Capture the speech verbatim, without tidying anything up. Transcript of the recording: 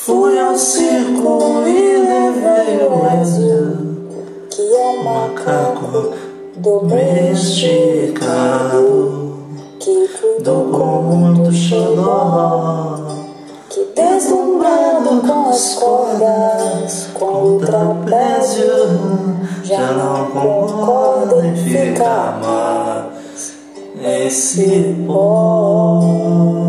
Fui ao circo e levei o Lézio, que é um macaco domesticado, que cuidou com muito xodó, que deslumbrado com as cordas, com o trapézio, já não concorda em ficar mais nesse pó.